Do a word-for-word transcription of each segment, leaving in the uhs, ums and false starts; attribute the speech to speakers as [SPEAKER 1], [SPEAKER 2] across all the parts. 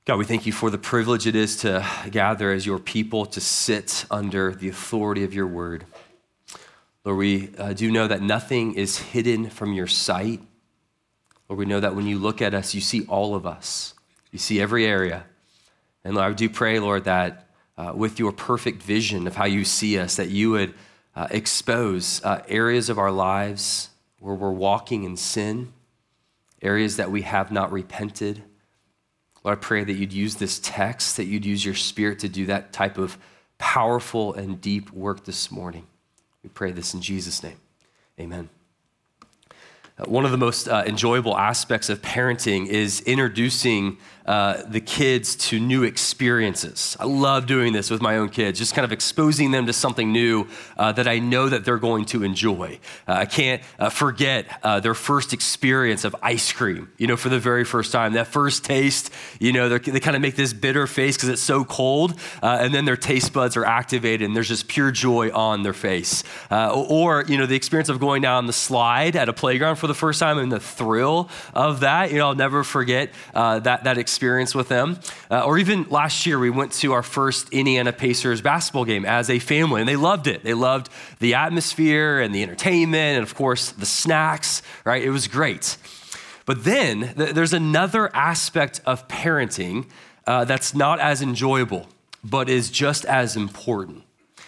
[SPEAKER 1] God, we thank you for the privilege it is to gather as your people, to sit under the authority of your word. Lord, we uh, do know that nothing is hidden from your sight. Lord, we know that when you look at us, you see all of us. You see every area. And Lord, I do pray, Lord, that uh, with your perfect vision of how you see us, that you would uh, expose uh, areas of our lives where we're walking in sin, areas that we have not repented. Lord, I pray that you'd use this text, that you'd use your spirit to do that type of powerful and deep work this morning. We pray this in Jesus' name. Amen. Uh, one of the most uh, enjoyable aspects of parenting is introducing uh, the kids to new experiences. I love doing this with my own kids, just kind of exposing them to something new uh, that I know that they're going to enjoy. Uh, I can't uh, forget uh, their first experience of ice cream, you know, for the very first time. That first taste, you know, they kind of make this bitter face because it's so cold, uh, and then their taste buds are activated and there's just pure joy on their face. Uh, or, you know, the experience of going down the slide at a playground for the first time and the thrill of that, you know, I'll never forget uh, that, that experience with them. Uh, or even last year, we went to our first Indiana Pacers basketball game as a family, and they loved it. They loved the atmosphere and the entertainment and, of course, the snacks, right? It was great. But then th- there's another aspect of parenting uh, that's not as enjoyable, but is just as important.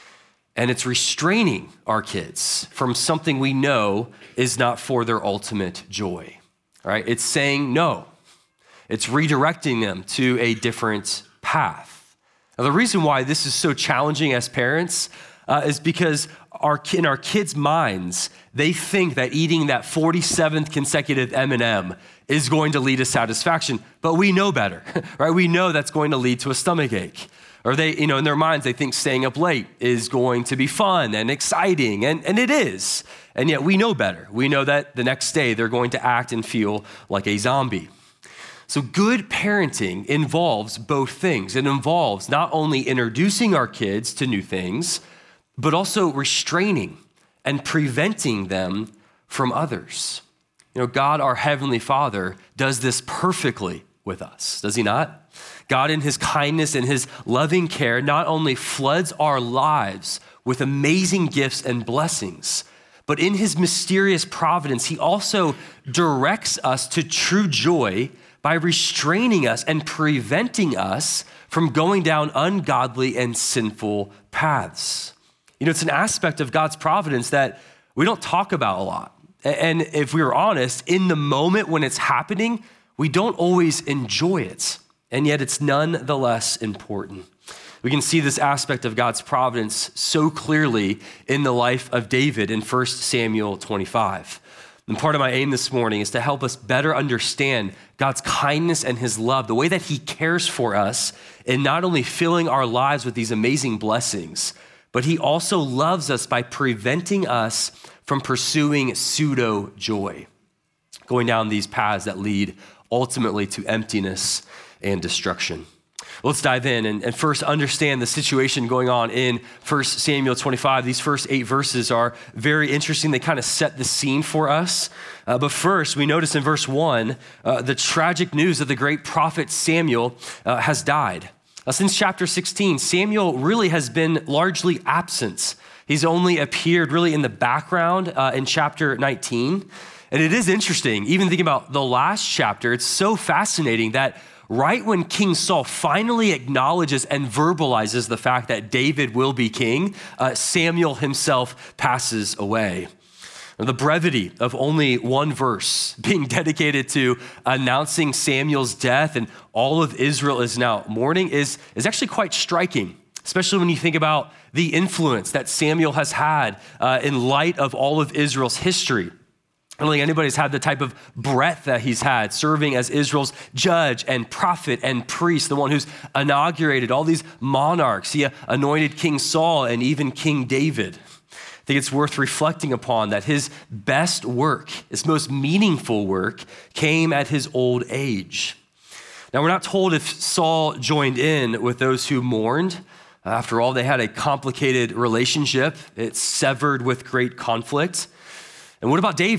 [SPEAKER 1] And it's restraining our kids from something we know is not for their ultimate joy, right? It's saying no. It's redirecting them to a different path. Now, the reason why this is so challenging as parents uh, is because our, in our kids' minds, they think that eating that forty-seventh consecutive M and M is going to lead to satisfaction, but we know better, right? We know that's going to lead to a stomach ache. Or they, you know, in their minds, they think staying up late is going to be fun and exciting, and, and it is. And yet we know better. We know that the next day they're going to act and feel like a zombie. So good parenting involves both things. It involves not only introducing our kids to new things, but also restraining and preventing them from others. You know, God, our Heavenly Father, does this perfectly with us, does he not? God, in his kindness and his loving care, not only floods our lives with amazing gifts and blessings, but in his mysterious providence, he also directs us to true joy by restraining us and preventing us from going down ungodly and sinful paths. You know, it's an aspect of God's providence that we don't talk about a lot. And if we were honest, in the moment when it's happening, we don't always enjoy it. And yet it's nonetheless important. We can see this aspect of God's providence so clearly in the life of David in First Samuel twenty-five. And part of my aim this morning is to help us better understand God's kindness and his love, the way that he cares for us in not only filling our lives with these amazing blessings, but he also loves us by preventing us from pursuing pseudo joy, going down these paths that lead ultimately to emptiness and destruction. Let's dive in and, and first understand the situation going on in First Samuel twenty-five. These first eight verses are very interesting. They kind of set the scene for us. Uh, but first, we notice in verse one, uh, the tragic news that the great prophet Samuel uh, has died. Uh, since chapter sixteen, Samuel really has been largely absent. He's only appeared really in the background uh, in chapter nineteen. And it is interesting, even thinking about the last chapter, it's so fascinating that right when King Saul finally acknowledges and verbalizes the fact that David will be king, uh, Samuel himself passes away. The brevity of only one verse being dedicated to announcing Samuel's death and all of Israel is now mourning is, is actually quite striking, especially when you think about the influence that Samuel has had uh, in light of all of Israel's history. I don't think anybody's had the type of breadth that he's had, serving as Israel's judge and prophet and priest, the one who's inaugurated all these monarchs. He anointed King Saul and even King David. I think it's worth reflecting upon that his best work, his most meaningful work, came at his old age. Now, we're not told if Saul joined in with those who mourned. After all, they had a complicated relationship. It's severed with great conflict. And what about David?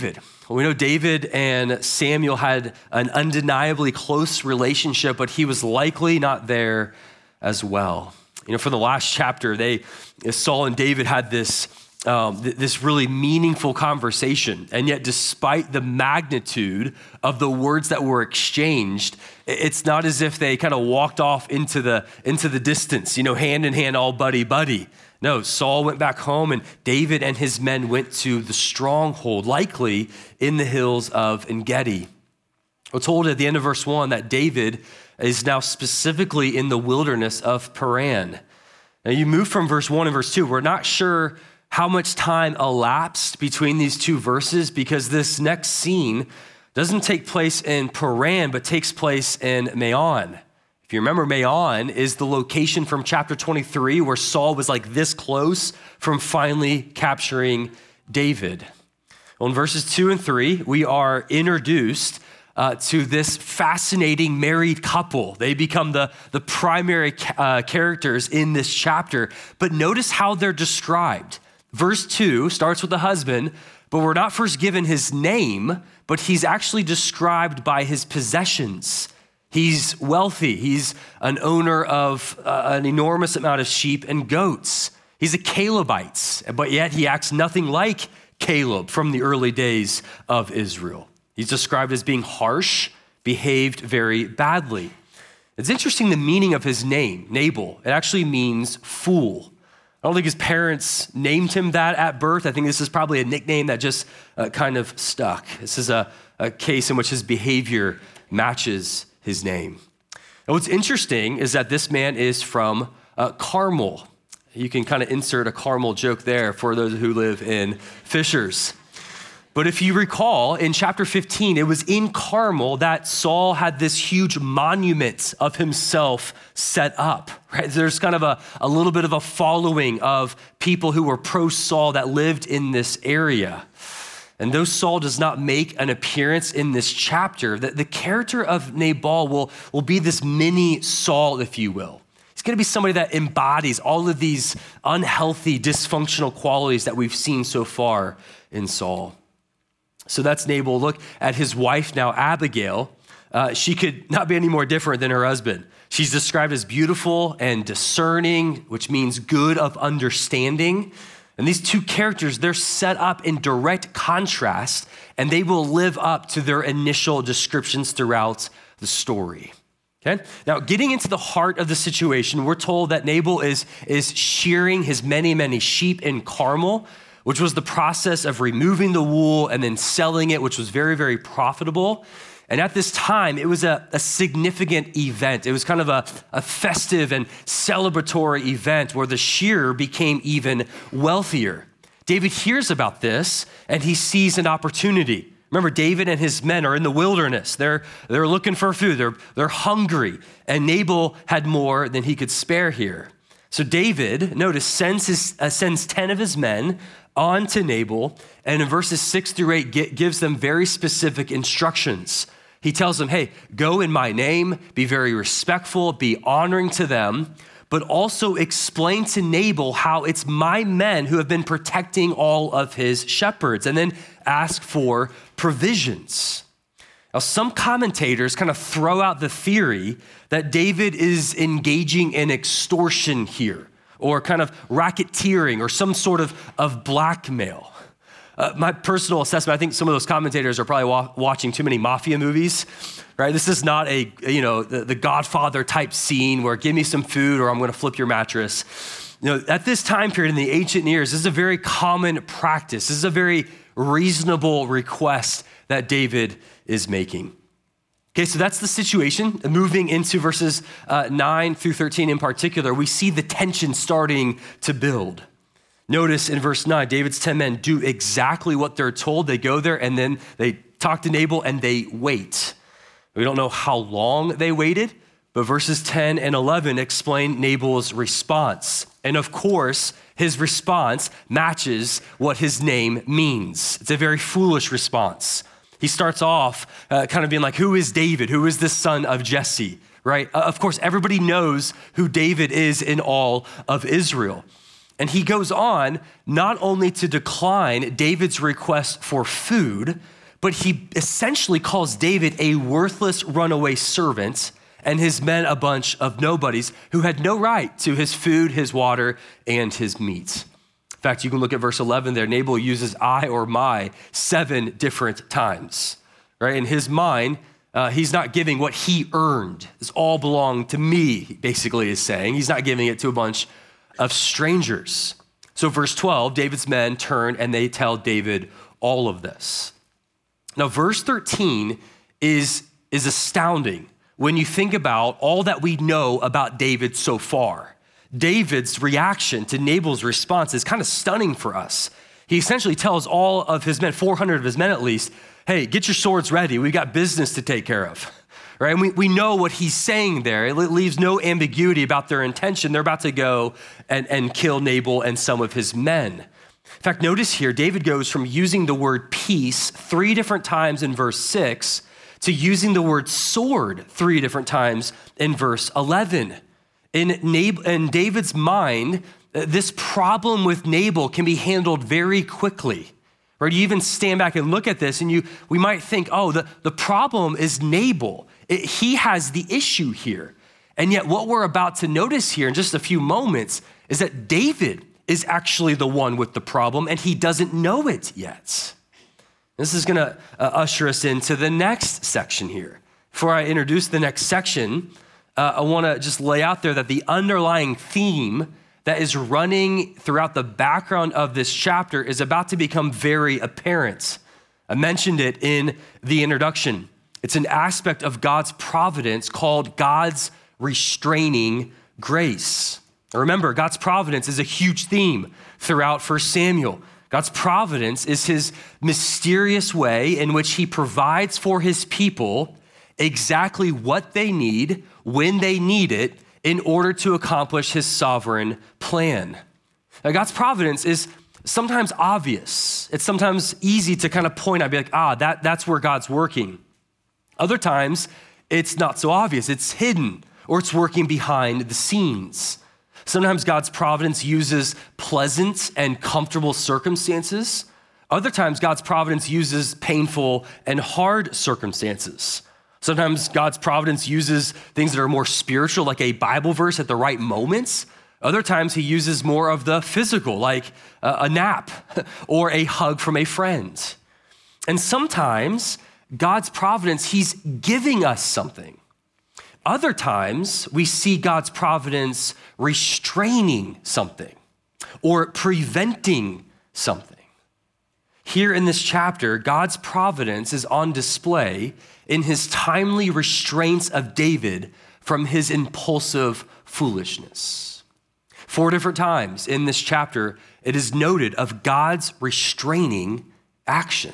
[SPEAKER 1] We know David and Samuel had an undeniably close relationship, but he was likely not there as well. You know, for the last chapter, they, Saul and David had this, um, th- this really meaningful conversation. And yet, despite the magnitude of the words that were exchanged, it's not as if they kind of walked off into the, into the distance, you know, hand in hand, all buddy buddy. No, Saul went back home and David and his men went to the stronghold, likely in the hills of En-gedi. We're told at the end of verse one that David is now specifically in the wilderness of Paran. Now you move from verse one and verse two. We're not sure how much time elapsed between these two verses because this next scene doesn't take place in Paran, but takes place in Maon. If you remember, Maon is the location from chapter twenty-three where Saul was like this close from finally capturing David. Well, in verses two and three, we are introduced uh, to this fascinating married couple. They become the, the primary uh, characters in this chapter, but notice how they're described. Verse two starts with the husband, but we're not first given his name, but he's actually described by his possessions. He's wealthy. He's an owner of uh, an enormous amount of sheep and goats. He's a Calebite, but yet he acts nothing like Caleb from the early days of Israel. He's described as being harsh, behaved very badly. It's interesting the meaning of his name, Nabal. It actually means fool. I don't think his parents named him that at birth. I think this is probably a nickname that just uh, kind of stuck. This is a, a case in which his behavior matches his name. And what's interesting is that this man is from uh, Carmel. You can kind of insert a Carmel joke there for those who live in Fishers. But if you recall, in chapter fifteen, it was in Carmel that Saul had this huge monument of himself set up, right? There's kind of a, a little bit of a following of people who were pro-Saul that lived in this area. And though Saul does not make an appearance in this chapter, the, the character of Nabal will, will be this mini Saul, if you will. He's going to be somebody that embodies all of these unhealthy, dysfunctional qualities that we've seen so far in Saul. So that's Nabal. Look at his wife now, Abigail. Uh, she could not be any more different than her husband. She's described as beautiful and discerning, which means good of understanding. And these two characters, they're set up in direct contrast, and they will live up to their initial descriptions throughout the story. Okay? Now, getting into the heart of the situation, we're told that Nabal is, is shearing his many, many sheep in Carmel, which was the process of removing the wool and then selling it, which was very, very profitable. And at this time, it was a, a significant event. It was kind of a, a festive and celebratory event where the shearer became even wealthier. David hears about this and he sees an opportunity. Remember, David and his men are in the wilderness. They're, they're looking for food. They're, they're hungry. And Nabal had more than he could spare here. So David, notice, sends, his, uh, sends ten of his men on to Nabal. And in verses six through eight, get, gives them very specific instructions. He tells them, hey, go in my name, be very respectful, be honoring to them, but also explain to Nabal how it's my men who have been protecting all of his shepherds, and then ask for provisions. Now, some commentators kind of throw out the theory that David is engaging in extortion here, or kind of racketeering, or some sort of, of blackmail. Uh, my personal assessment, I think some of those commentators are probably wa- watching too many mafia movies, right? This is not a, you know, the, the Godfather type scene where give me some food or I'm going to flip your mattress. You know, at this time period in the ancient years, this is a very common practice. This is a very reasonable request that David is making. Okay, so that's the situation. Moving into verses uh, nine through thirteen in particular, we see the tension starting to build. Notice in verse nine, David's ten men do exactly what they're told. They go there and then they talk to Nabal and they wait. We don't know how long they waited, but verses ten and eleven explain Nabal's response. And of course, his response matches what his name means. It's a very foolish response. He starts off uh, kind of being like, who is David? Who is the son of Jesse, right? Uh, of course, everybody knows who David is in all of Israel. And he goes on not only to decline David's request for food, but he essentially calls David a worthless runaway servant and his men a bunch of nobodies who had no right to his food, his water, and his meat. In fact, you can look at verse eleven there. Nabal uses I or my seven different times, right? In his mind, uh, he's not giving what he earned. This all belonged to me, he basically is saying. He's not giving it to a bunch of strangers. So verse twelve, David's men turn and they tell David all of this. Now, verse thirteen is, is astounding when you think about all that we know about David so far. David's reaction to Nabal's response is kind of stunning for us. He essentially tells all of his men, four hundred of his men at least, hey, get your swords ready. We've got business to take care of, right? And we, we know what he's saying there. It leaves no ambiguity about their intention. They're about to go and, and kill Nabal and some of his men. In fact, notice here, David goes from using the word peace three different times in verse six to using the word sword three different times in verse eleven. In, Nab- in David's mind, this problem with Nabal can be handled very quickly. Right? You even stand back and look at this and you we might think, oh, the, the problem is Nabal. It, he has the issue here. And yet what we're about to notice here in just a few moments is that David is actually the one with the problem and he doesn't know it yet. This is gonna uh, usher us into the next section here. Before I introduce the next section, uh, I wanna just lay out there that the underlying theme that is running throughout the background of this chapter is about to become very apparent. I mentioned it in the introduction. It's an aspect of God's providence called God's restraining grace. Now remember, God's providence is a huge theme throughout First Samuel. God's providence is his mysterious way in which he provides for his people exactly what they need, when they need it, in order to accomplish his sovereign plan. Now, God's providence is sometimes obvious. It's sometimes easy to kind of point out, be like, ah, that, that's where God's working. Other times, it's not so obvious. It's hidden, or it's working behind the scenes. Sometimes God's providence uses pleasant and comfortable circumstances. Other times, God's providence uses painful and hard circumstances. Sometimes God's providence uses things that are more spiritual, like a Bible verse at the right moments. Other times he uses more of the physical, like a nap or a hug from a friend. And sometimes God's providence, he's giving us something. Other times we see God's providence restraining something or preventing something. Here in this chapter, God's providence is on display in his timely restraints of David from his impulsive foolishness. Four different times in this chapter, it is noted of God's restraining action.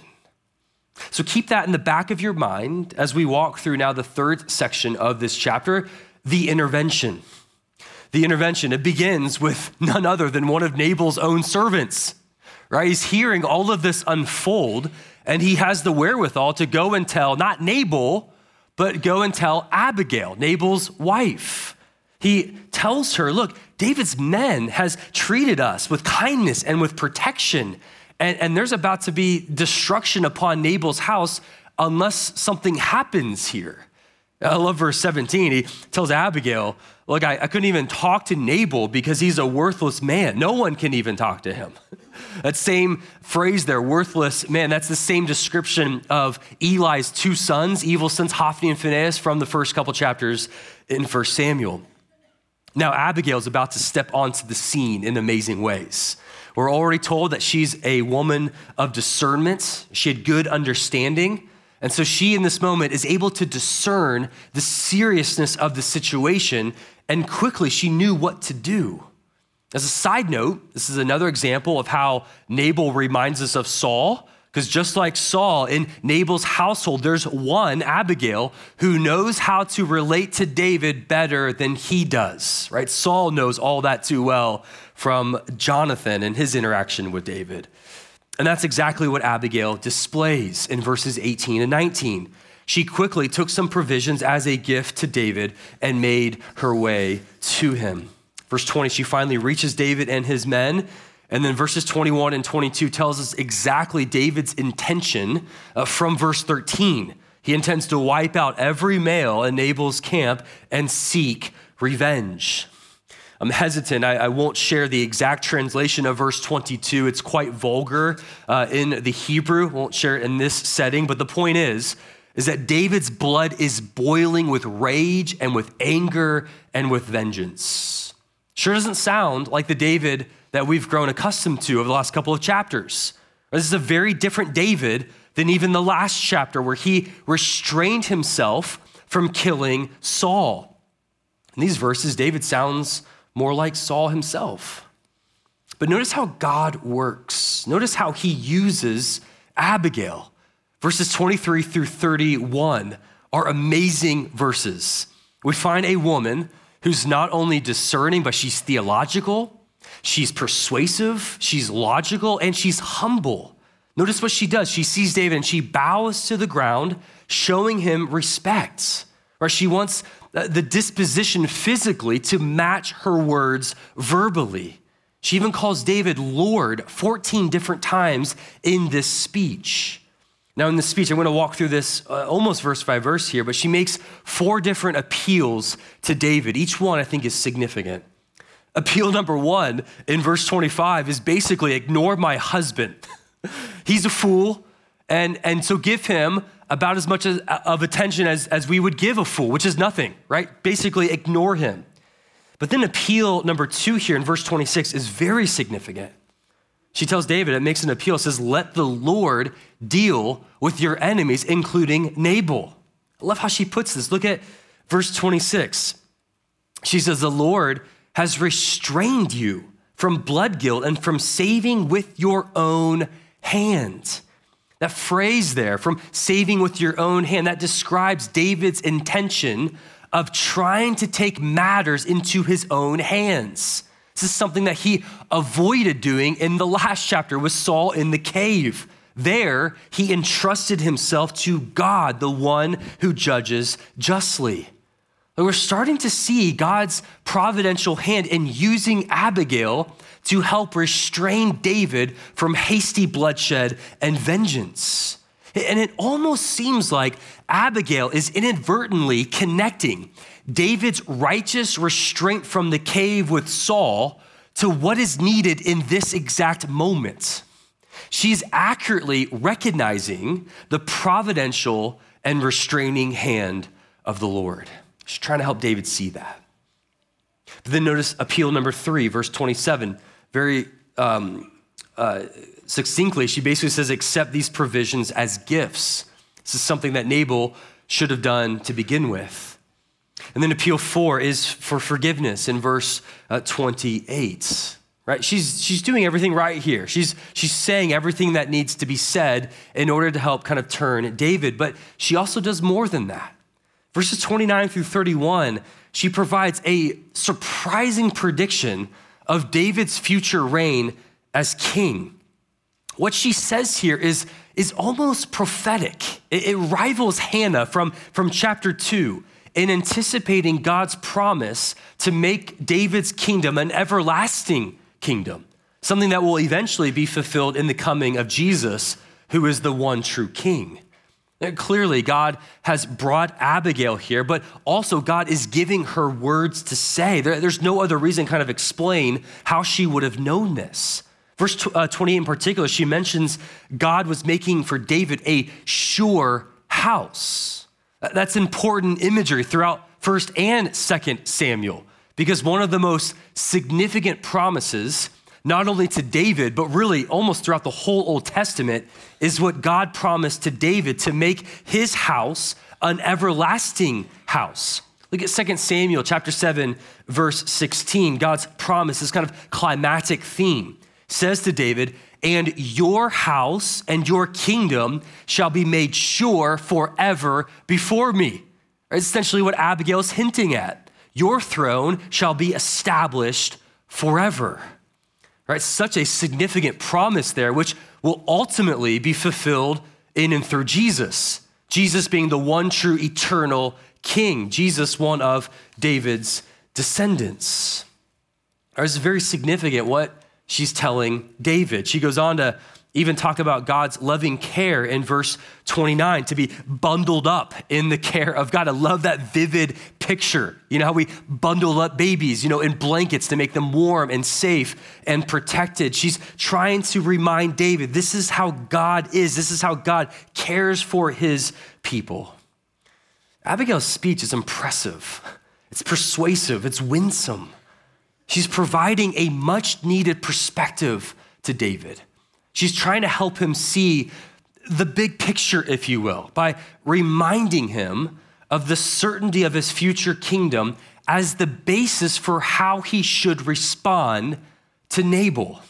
[SPEAKER 1] So keep that in the back of your mind as we walk through now the third section of this chapter, the intervention. The intervention, it begins with none other than one of Nabal's own servants, right? He's hearing all of this unfold and he has the wherewithal to go and tell, not Nabal, but go and tell Abigail, Nabal's wife. He tells her, look, David's men has treated us with kindness and with protection. And, and there's about to be destruction upon Nabal's house unless something happens here. I love verse seventeen. He tells Abigail, look, I, I couldn't even talk to Nabal because he's a worthless man. No one can even talk to him. That same phrase there, worthless man, that's the same description of Eli's two sons, evil sons, Hophni and Phinehas, from the first couple chapters in First Samuel. Now, Abigail's about to step onto the scene in amazing ways. We're already told that she's a woman of discernment. She had good understanding. And so she, in this moment, is able to discern the seriousness of the situation, and quickly she knew what to do. As a side note, this is another example of how Nabal reminds us of Saul, because just like Saul, in Nabal's household, there's one, Abigail, who knows how to relate to David better than he does, right? Saul knows all that too well from Jonathan and his interaction with David. And that's exactly what Abigail displays in verses eighteen and nineteen. She quickly took some provisions as a gift to David and made her way to him. Verse twenty, she finally reaches David and his men, And then verses twenty-one and twenty-two tells us exactly David's intention uh, from verse thirteen. He intends to wipe out every male in Nabal's camp and seek revenge. I'm hesitant. I, I won't share the exact translation of verse twenty-two. It's quite vulgar uh, in the Hebrew. Won't share it in this setting. But the point is, is that David's blood is boiling with rage and with anger and with vengeance. Sure doesn't sound like the David that we've grown accustomed to over the last couple of chapters. This is a very different David than even the last chapter where he restrained himself from killing Saul. In these verses, David sounds more like Saul himself. But notice how God works. Notice how he uses Abigail. Verses twenty-three through thirty-one are amazing verses. We find a woman who's not only discerning, but she's theological, she's persuasive, she's logical, and she's humble. Notice what she does. She sees David and she bows to the ground, showing him respect. Or she wants the disposition physically to match her words verbally. She even calls David Lord fourteen different times in this speech. Now in this speech, I'm going to walk through this uh, almost verse by verse here, but she makes four different appeals to David. Each one I think is significant. Appeal number one in verse twenty-five is basically ignore my husband. He's a fool, and, and so give him about as much as, of attention as, as we would give a fool, which is nothing, right? Basically ignore him. But then appeal number two here in verse twenty-six is very significant. She tells David, it makes an appeal, it says, let the Lord deal with your enemies, including Nabal. I love how she puts this. Look at verse twenty-six. She says, the Lord has restrained you from blood guilt and from saving with your own hand. That phrase there, from saving with your own hand, that describes David's intention of trying to take matters into his own hands. This is something that he avoided doing in the last chapter with Saul in the cave. There, he entrusted himself to God, the one who judges justly. But we're starting to see God's providential hand in using Abigail to help restrain David from hasty bloodshed and vengeance. And it almost seems like Abigail is inadvertently connecting David's righteous restraint from the cave with Saul to what is needed in this exact moment. She's accurately recognizing the providential and restraining hand of the Lord. She's trying to help David see that. But then notice appeal number three, verse twenty-seven, very um, uh, succinctly, she basically says, accept these provisions as gifts. This is something that Nabal should have done to begin with. And then appeal four is for forgiveness in verse uh, twenty-eight, right? She's, she's doing everything right here. She's, she's saying everything that needs to be said in order to help kind of turn David, but she also does more than that. Verses twenty-nine through thirty-one, she provides a surprising prediction of David's future reign as king. What she says here is, is almost prophetic. It, it rivals Hannah from, from chapter two in anticipating God's promise to make David's kingdom an everlasting kingdom, something that will eventually be fulfilled in the coming of Jesus, who is the one true king. And clearly, God has brought Abigail here, but also God is giving her words to say. There, there's no other reason kind of explain how she would have known this. Verse twenty-eight in particular, she mentions God was making for David a sure house. That's important imagery throughout First and Second Samuel, because one of the most significant promises, not only to David, but really almost throughout the whole Old Testament, is what God promised to David to make his house an everlasting house. Look at Second Samuel chapter seven, verse sixteen. God's promise, this kind of climatic theme, says to David, and your house and your kingdom shall be made sure forever before me. That's essentially what Abigail is hinting at. Your throne shall be established forever. Right? Such a significant promise there, which will ultimately be fulfilled in and through Jesus. Jesus being the one true eternal king. Jesus, one of David's descendants. Right, it's very significant what she's telling David. She goes on to even talk about God's loving care in verse twenty-nine, to be bundled up in the care of God. I love that vivid picture. You know how we bundle up babies, you know, in blankets to make them warm and safe and protected. She's trying to remind David, this is how God is. This is how God cares for his people. Abigail's speech is impressive. It's persuasive. It's winsome. She's providing a much needed perspective to David. She's trying to help him see the big picture, if you will, by reminding him of the certainty of his future kingdom as the basis for how he should respond to Nabal.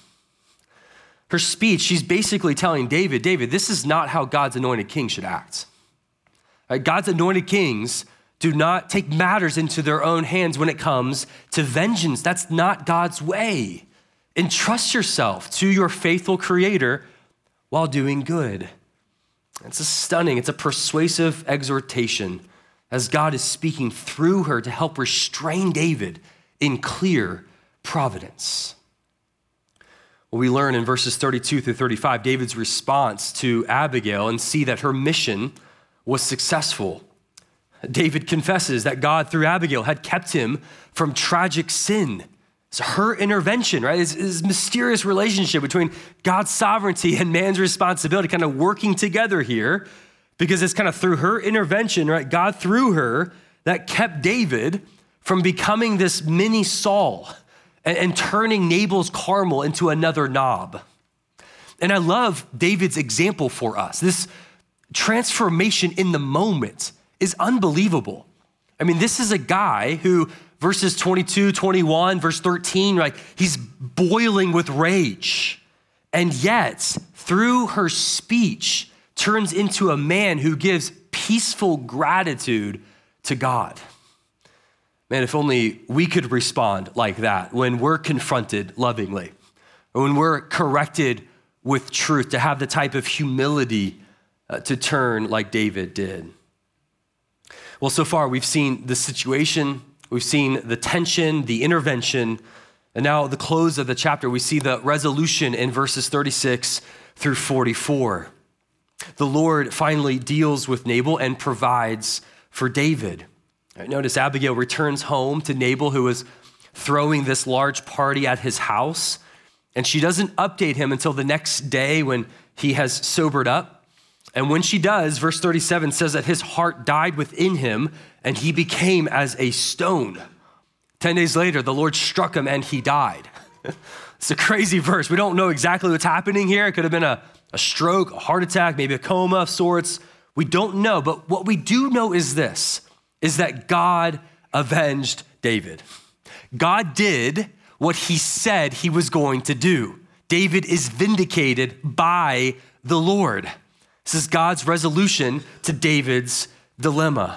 [SPEAKER 1] Her speech, she's basically telling David, David, this is not how God's anointed king should act. Right? God's anointed kings do not take matters into their own hands when it comes to vengeance. That's not God's way. Entrust yourself to your faithful creator while doing good. It's a stunning, it's a persuasive exhortation as God is speaking through her to help restrain David in clear providence. Well, we learn in verses thirty-two through thirty-five, David's response to Abigail and see that her mission was successful. David confesses that God, through Abigail, had kept him from tragic sin. It's her intervention, right? It's this mysterious relationship between God's sovereignty and man's responsibility kind of working together here, because it's kind of through her intervention, right? God, through her, that kept David from becoming this mini Saul and, and turning Nabal's Carmel into another Nob. And I love David's example for us. This transformation in the moment is unbelievable. I mean, this is a guy who, verses twenty-two, twenty-one, verse thirteen, right? He's boiling with rage. And yet, through her speech, turns into a man who gives peaceful gratitude to God. Man, if only we could respond like that when we're confronted lovingly, or when we're corrected with truth, to have the type of humility uh, to turn like David did. Well, so far we've seen the situation, we've seen the tension, the intervention, and now the close of the chapter, we see the resolution in verses thirty-six through forty-four. The Lord finally deals with Nabal and provides for David. Notice Abigail returns home to Nabal, who is throwing this large party at his house, and she doesn't update him until the next day when he has sobered up. And when she does, verse thirty-seven says that his heart died within him and he became as a stone. Ten days later, the Lord struck him and he died. It's a crazy verse. We don't know exactly what's happening here. It could have been a, a stroke, a heart attack, maybe a coma of sorts. We don't know, but what we do know is this, is that God avenged David. God did what he said he was going to do. David is vindicated by the Lord. This is God's resolution to David's dilemma.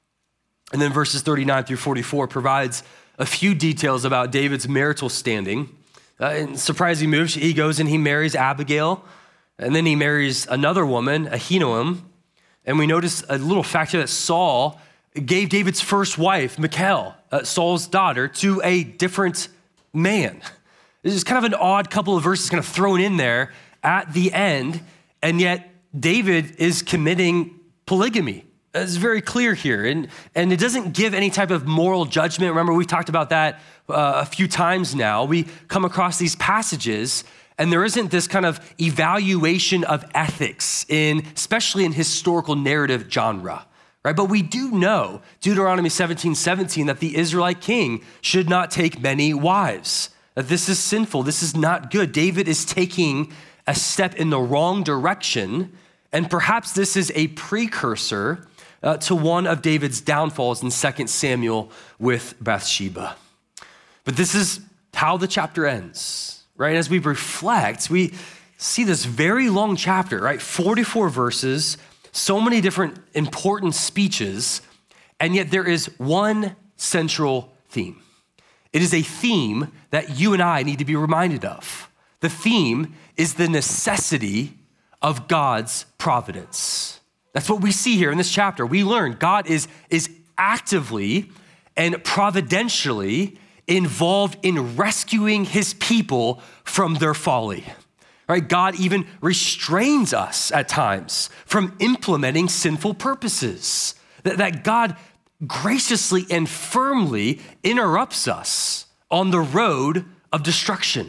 [SPEAKER 1] And then verses thirty-nine through forty-four provides a few details about David's marital standing. Uh, in surprising move, he goes and he marries Abigail, and then he marries another woman, Ahinoam. And we notice a little fact here that Saul gave David's first wife, Michal, uh, Saul's daughter, to a different man. This is kind of an odd couple of verses kind of thrown in there at the end, and yet David is committing polygamy. It's very clear here, and, and it doesn't give any type of moral judgment. Remember, we've talked about that uh, a few times now. We come across these passages, and there isn't this kind of evaluation of ethics, in, especially in historical narrative genre, right? But we do know, Deuteronomy seventeen seventeen, that the Israelite king should not take many wives, that this is sinful, this is not good. David is taking a step in the wrong direction, and perhaps this is a precursor uh, to one of David's downfalls in Second Samuel with Bathsheba. But this is how the chapter ends, right? As we reflect, we see this very long chapter, right? forty-four verses, so many different important speeches, and yet there is one central theme. It is a theme that you and I need to be reminded of. The theme is the necessity of God's providence. That's what we see here in this chapter. We learn God is, is actively and providentially involved in rescuing his people from their folly. Right? God even restrains us at times from implementing sinful purposes. That, that God graciously and firmly interrupts us on the road of destruction.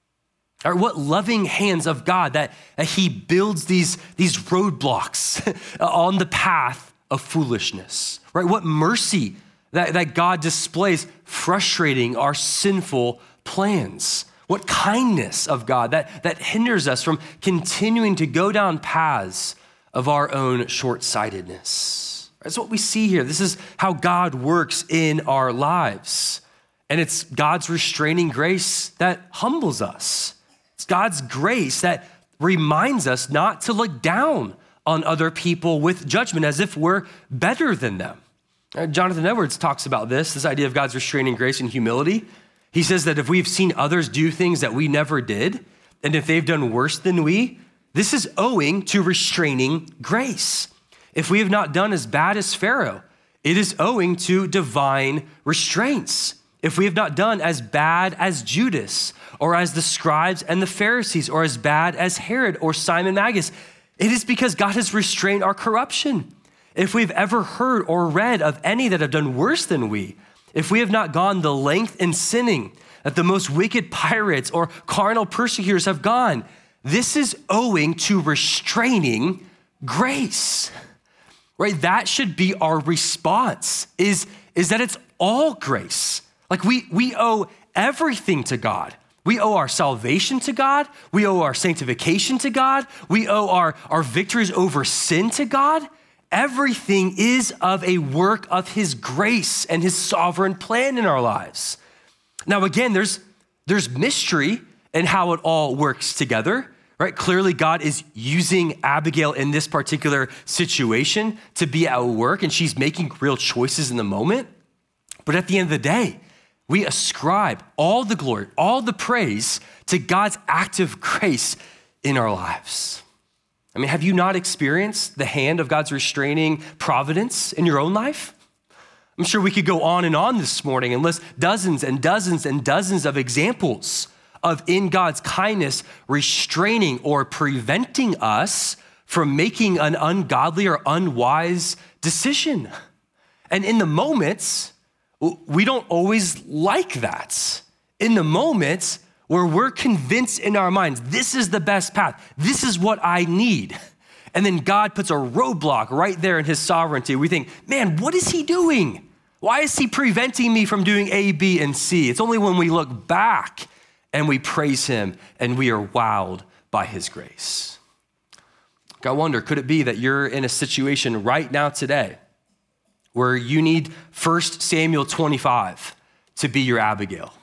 [SPEAKER 1] Or what loving hands of God that, that he builds these, these roadblocks on the path of foolishness, right? What mercy that, that God displays frustrating our sinful plans. What kindness of God that, that hinders us from continuing to go down paths of our own short-sightedness. That's what we see here. This is how God works in our lives. And it's God's restraining grace that humbles us. It's God's grace that reminds us not to look down on other people with judgment as if we're better than them. Jonathan Edwards talks about this, this idea of God's restraining grace and humility. He says that if we've seen others do things that we never did, and if they've done worse than we, this is owing to restraining grace. If we have not done as bad as Pharaoh, it is owing to divine restraints. If we have not done as bad as Judas, or as the scribes and the Pharisees, or as bad as Herod or Simon Magus, it is because God has restrained our corruption. If we've ever heard or read of any that have done worse than we, if we have not gone the length in sinning that the most wicked pirates or carnal persecutors have gone, this is owing to restraining grace, right? That should be our response, is, is that it's all grace. Like we, we owe everything to God. We owe our salvation to God. We owe our sanctification to God. We owe our, our victories over sin to God. Everything is of a work of his grace and his sovereign plan in our lives. Now, again, there's, there's mystery in how it all works together, right? Clearly, God is using Abigail in this particular situation to be at work, and she's making real choices in the moment. But at the end of the day, we ascribe all the glory, all the praise to God's active grace in our lives. I mean, have you not experienced the hand of God's restraining providence in your own life? I'm sure we could go on and on this morning and list dozens and dozens and dozens of examples of in God's kindness restraining or preventing us from making an ungodly or unwise decision. And in the moments, we don't always like that. In the moments where we're convinced in our minds, this is the best path, this is what I need. And then God puts a roadblock right there in his sovereignty. We think, man, what is he doing? Why is he preventing me from doing A, B, and C? It's only when we look back and we praise him and we are wowed by his grace. I wonder, could it be that you're in a situation right now today where you need First Samuel twenty-five to be your Abigail?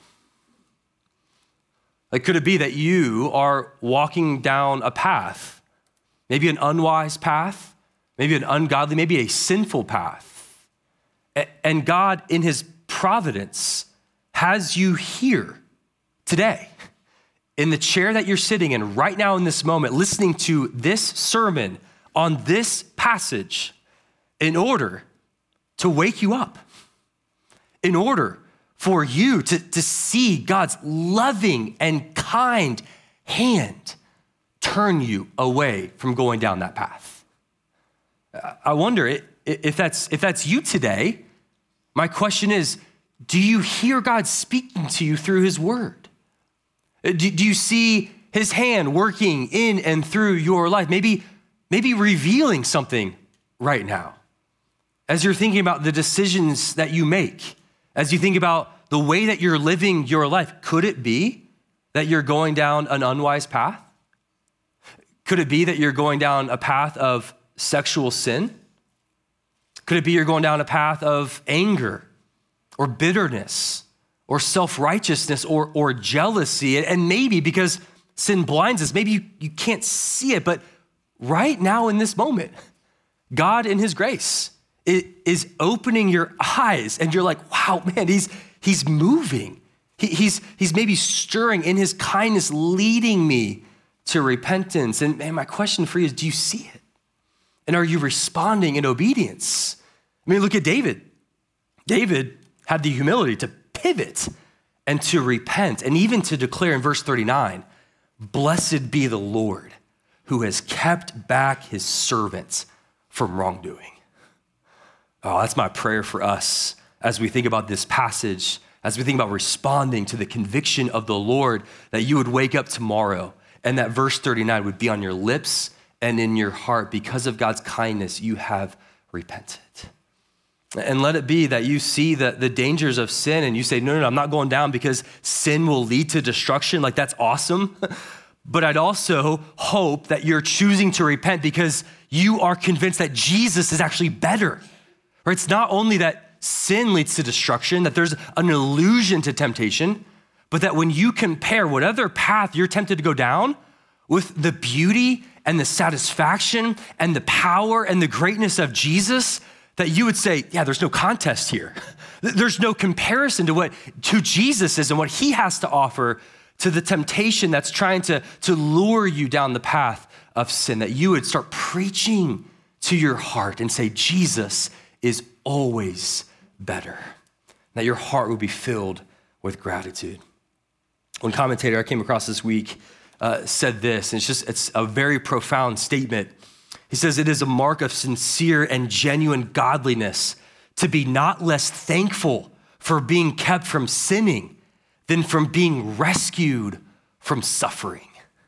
[SPEAKER 1] Like, could it be that you are walking down a path, maybe an unwise path, maybe an ungodly, maybe a sinful path, and God in his providence has you here today in the chair that you're sitting in right now in this moment, listening to this sermon on this passage in order to wake you up, in order for you to, to see God's loving and kind hand turn you away from going down that path. I wonder if that's, if that's you today. My question is, do you hear God speaking to you through his word? Do, do you see his hand working in and through your life? Maybe, maybe revealing something right now. As you're thinking about the decisions that you make, as you think about the way that you're living your life, could it be that you're going down an unwise path? Could it be that you're going down a path of sexual sin? Could it be you're going down a path of anger or bitterness or self-righteousness or, or jealousy? And maybe because sin blinds us, maybe you, you can't see it, but right now in this moment, God in his grace is opening your eyes and you're like, wow, man, he's, he's moving. He, he's, he's maybe stirring in his kindness, leading me to repentance. And man, my question for you is, do you see it? And are you responding in obedience? I mean, look at David. David had the humility to pivot and to repent, and even to declare in verse thirty-nine, blessed be the Lord who has kept back his servants from wrongdoing. Oh, that's my prayer for us as we think about this passage, as we think about responding to the conviction of the Lord, that you would wake up tomorrow and that verse thirty-nine would be on your lips and in your heart. Because of God's kindness, you have repented. And let it be that you see the, the dangers of sin and you say, no, no, no, I'm not going down because sin will lead to destruction. Like, that's awesome. But I'd also hope that you're choosing to repent because you are convinced that Jesus is actually better. Right? It's not only that sin leads to destruction, that there's an illusion to temptation, but that when you compare what other path you're tempted to go down with the beauty and the satisfaction and the power and the greatness of Jesus, that you would say, yeah, there's no contest here. There's no comparison to what to Jesus is and what he has to offer to the temptation that's trying to, to lure you down the path of sin, that you would start preaching to your heart and say, Jesus is always better. That your heart would be filled with gratitude. One commentator I came across this week uh, said this, and it's just, it's a very profound statement. He says, it is a mark of sincere and genuine godliness to be not less thankful for being kept from sinning than from being rescued from suffering.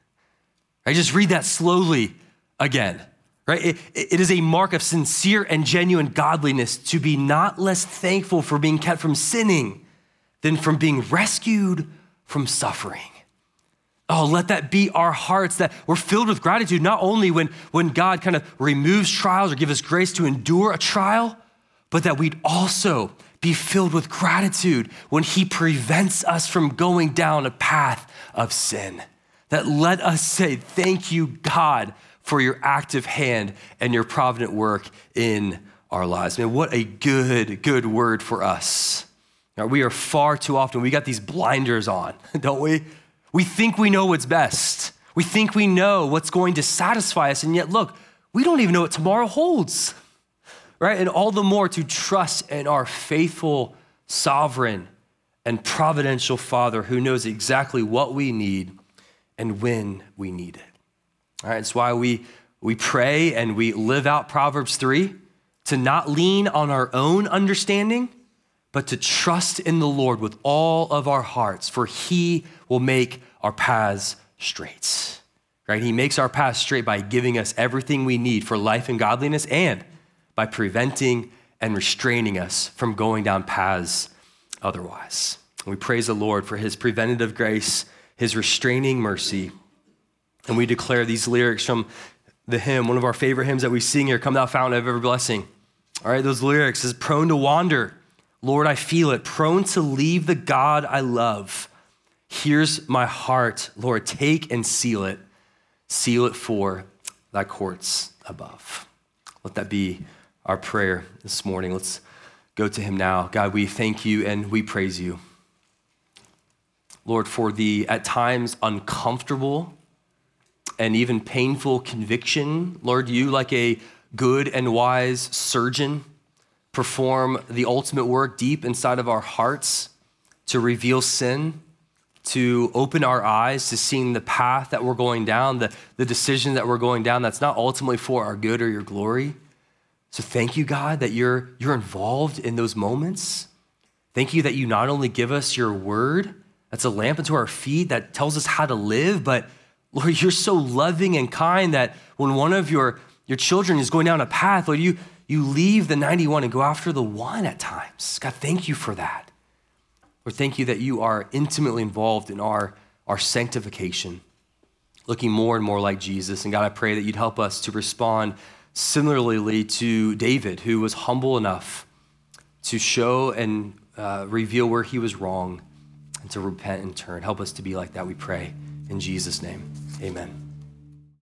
[SPEAKER 1] I just read that slowly again, right? It, it is a mark of sincere and genuine godliness to be not less thankful for being kept from sinning than from being rescued from suffering. Oh, let that be our hearts, that we're filled with gratitude, not only when, when God kind of removes trials or gives us grace to endure a trial, but that we'd also be filled with gratitude when he prevents us from going down a path of sin. That let us say, thank you, God, for your active hand and your provident work in our lives. Man, what a good, good word for us. Now, we are far too often, we got these blinders on, don't we? We think we know what's best. We think we know what's going to satisfy us. And yet, look, we don't even know what tomorrow holds, right? And all the more to trust in our faithful, sovereign, and providential Father who knows exactly what we need and when we need it. All right, it's why we, we pray and we live out Proverbs three, to not lean on our own understanding, but to trust in the Lord with all of our hearts, for he will make our paths straight, right? He makes our paths straight by giving us everything we need for life and godliness, and by preventing and restraining us from going down paths otherwise. We praise the Lord for his preventative grace, his restraining mercy, and we declare these lyrics from the hymn, one of our favorite hymns that we sing here, Come Thou Fountain of Every Blessing. All right, those lyrics is prone to wander, Lord, I feel it, prone to leave the God I love. Here's my heart, Lord, take and seal it. Seal it for thy courts above. Let that be our prayer this morning. Let's go to him now. God, we thank you and we praise you, Lord, for the at times uncomfortable and even painful conviction. Lord, you, like a good and wise surgeon, perform the ultimate work deep inside of our hearts to reveal sin, to open our eyes to seeing the path that we're going down, the, the decision that we're going down that's not ultimately for our good or your glory. So thank you, God, that you're, you're involved in those moments. Thank you that you not only give us your word, that's a lamp unto our feet that tells us how to live, but Lord, you're so loving and kind that when one of your, your children is going down a path, Lord, you, you leave the ninety-one and go after the one at times. God, thank you for that. Lord, thank you that you are intimately involved in our, our sanctification, looking more and more like Jesus. And God, I pray that you'd help us to respond similarly to David, who was humble enough to show and uh, reveal where he was wrong and to repent and turn. Help us to be like that, we pray. In Jesus' name, amen.